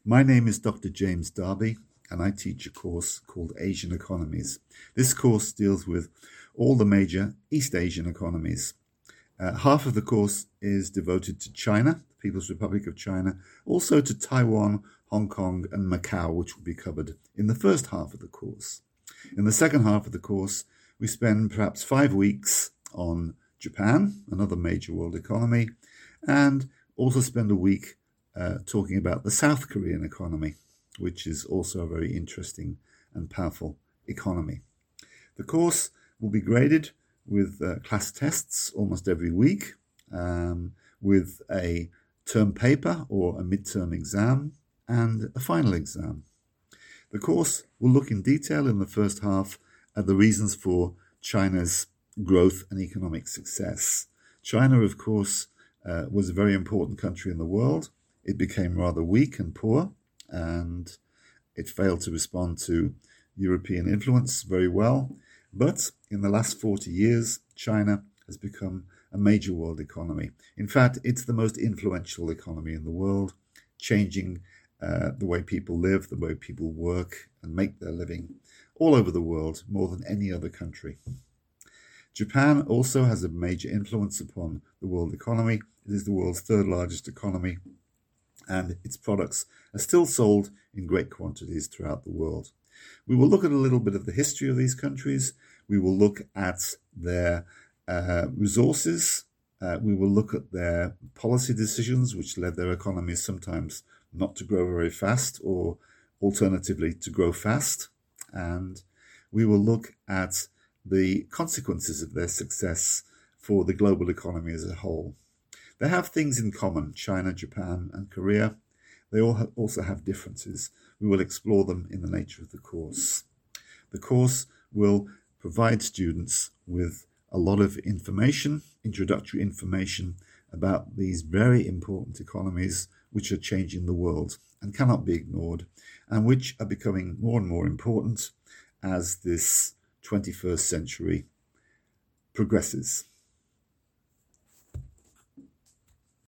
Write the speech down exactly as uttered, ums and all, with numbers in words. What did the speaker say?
My name is Doctor James Darby, and I teach a course called Asian Economies. This course deals with all the major East Asian economies. Uh, half of the course is devoted to China, the People's Republic of China, also to Taiwan, Hong Kong, and Macau, which will be covered in the first half of the course. In the second half of the course, we spend perhaps five weeks on Japan, another major world economy, and also spend a week uh, talking about the South Korean economy, which is also a very interesting and powerful economy. The course will be graded with uh, class tests almost every week, um, with a term paper or a midterm exam and a final exam. The course will look in detail in the first half at the reasons for China's growth and economic success. China, of course, uh, was a very important country in the world. It became rather weak and poor, and it failed to respond to European influence very well. But in the last forty years, China has become a major world economy. In fact, it's the most influential economy in the world, changing uh, the way people live, the way people work and make their living all over the world, more than any other country. Japan also has a major influence upon the world economy. It is the world's third largest economy, and its products are still sold in great quantities throughout the world. We will look at a little bit of the history of these countries. We will look at their uh, resources. Uh, we will look at their policy decisions, which led their economies sometimes not to grow very fast, or alternatively to grow fast. And we will look at the consequences of their success for the global economy as a whole. They have things in common, China, Japan, and Korea. They all ha- also have differences. We will explore them in the nature of the course. The course will provide students with a lot of information, introductory information about these very important economies which are changing the world and cannot be ignored, and which are becoming more and more important as this twenty-first century progresses.